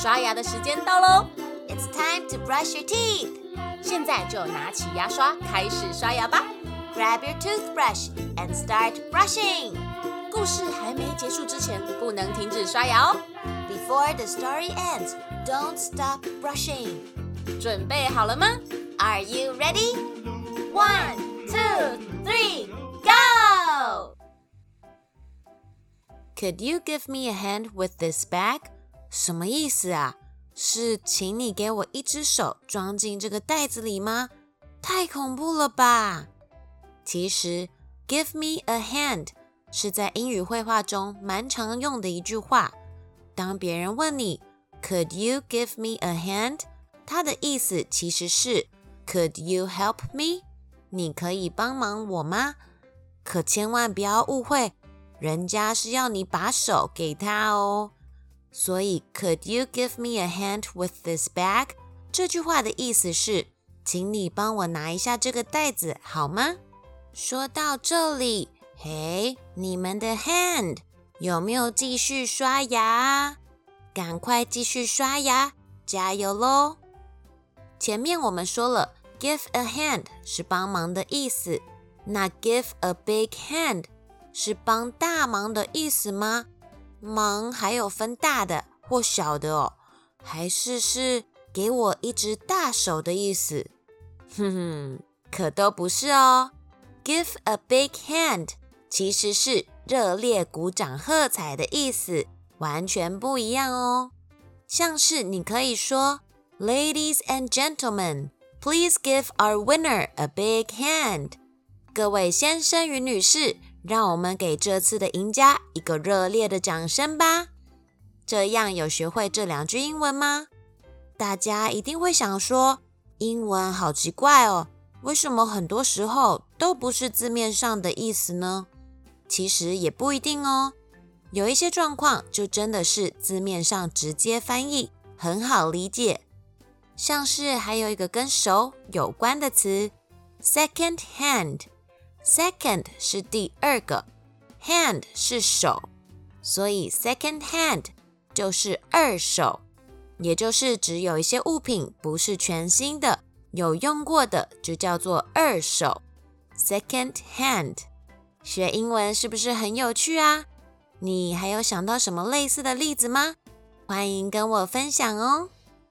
刷牙的时间到咯。 It's time to brush your teeth. 现在就拿起牙刷开始刷牙吧。 Grab your toothbrush and start brushing. 故事还没结束之前，不能停止刷牙哦。 Before the story ends, don't stop brushing. 准备好了吗？ Are you ready? 1, 2, 3, go! Could you give me a hand with this bag? 什么意思啊？是请你给我一只手装进这个袋子里吗？太恐怖了吧！其实 give me a hand 是在英语绘画中蛮常用的一句话。当别人问你 Could you give me a hand? 它的意思其实是 Could you help me? 你可以帮忙我吗？可千万不要误会，人家是要你把手给他哦。所以 Could you give me a hand with this bag? 这句话的意思是请你帮我拿一下这个袋子好吗？说到这里，嘿，你们的 hand 有没有继续刷牙啊？赶快继续刷牙，加油咯！前面我们说了 give a hand 是帮忙的意思，那 give a big hand 是帮大忙的意思吗？忙还有分大的或小的哦，还是给我一只大手的意思？可都不是哦。Give a big hand 其实是热烈鼓掌喝彩的意思，完全不一样哦。像是你可以说 Ladies and gentlemen, please give our winner a big hand. 各位先生与女士，让我们给这次的赢家一个热烈的掌声吧。这样有学会这2句英文吗？大家一定会想说，英文好奇怪哦，为什么很多时候都不是字面上的意思呢？其实也不一定哦，有一些状况就真的是字面上直接翻译，很好理解。像是还有一个跟手有关的词 second hand。Second 是第2个 hand 是手，所以 second hand 就是2手，也就是指有一些物品不是全新的，有用过的就叫做2手 second hand。 学英文是不是很有趣啊？你还有想到什么类似的例子吗？欢迎跟我分享哦。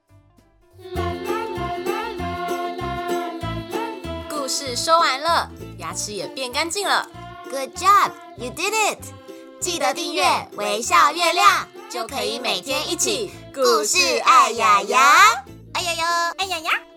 故事说完了，牙齿也变干净了。 Good job, you did it! 记得订阅微笑月亮，就可以每天一起故事爱牙牙， 哎呀呀， 哎呀呀！